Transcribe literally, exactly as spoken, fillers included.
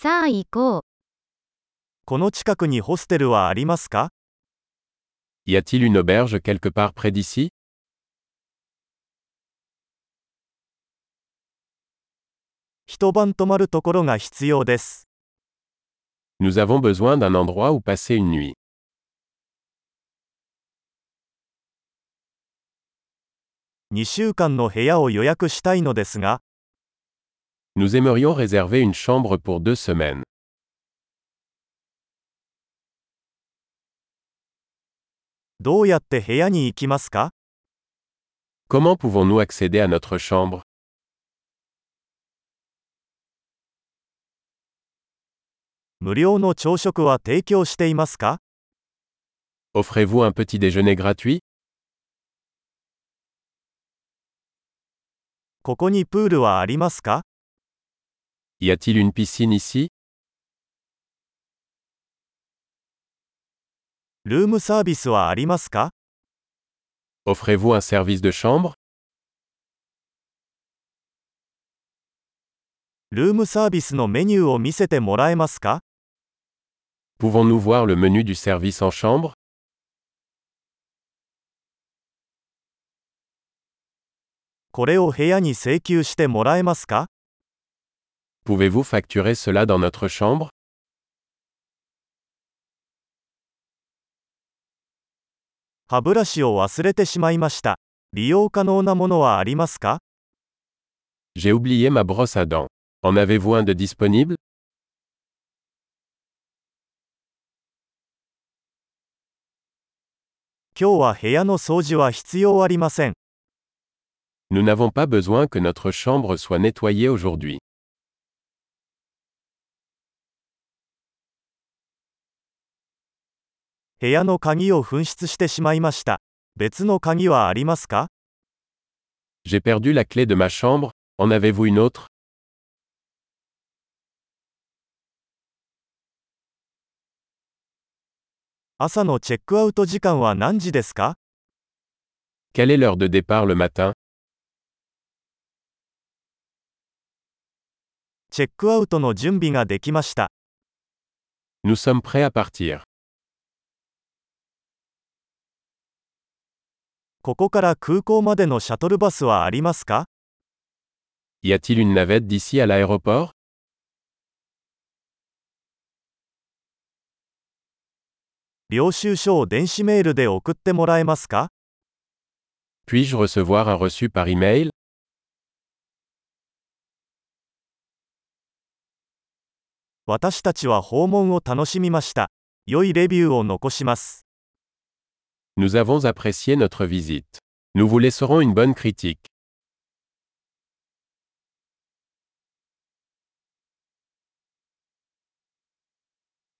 さあ行こう。 この近くにホステルはありますか？ Y a-t-il une auberge quelque part près d'ici? 一晩泊まるところが必要です。 Nous avons besoin d'un endroit où passer une nuit. にしゅうかんの部屋を予約したいのですが、 Nous aimerions réserver une chambre pour deux semaines. どうやって部屋に行きますか？ Comment pouvons-nous accéder à notre chambre? 無料の朝食は提供していますか？ Offrez-vous un petit déjeuner gratuit? ここにプールはありますか？ Y a-t-il une piscine ici? ルームサービスはありますか？ Offrez-vous un service de chambre? ルームサービスのメニューを見せてもらえますか？ Pouvons-nous voir le menu du service en chambre? これを部屋に請求してもらえますか？ Pouvez-vous facturer cela dans notre chambre? 歯ブラシを忘れてしまいました。利用可能なものはありますか？ J'ai oublié ma brosse à dents. En avez-vous un de disponible? 今日は部屋の掃除は必要ありません。 Nous n'avons pas besoin que notre chambre soit nettoyée aujourd'hui. 部屋の鍵を紛失してしまいました。別の鍵はありますか？ J'ai perdu la clé de ma chambre. En avez-vous une autre? 朝のチェックアウト時間は何時ですか？ Quelle est l'heure de départ le matin? チェックアウトの準備ができました。 Nous sommes prêts à partir. ここから空港までのシャトルバスはありますか？ Y a-t-il une navette d'ici à l'aéroport? 領収書を電子メールで送ってもらえますか？ Puis-je recevoir un reçu par email? 私たちは訪問を楽しみました。良いレビューを残します。 Nous avons apprécié notre visite. Nous vous laisserons une bonne critique.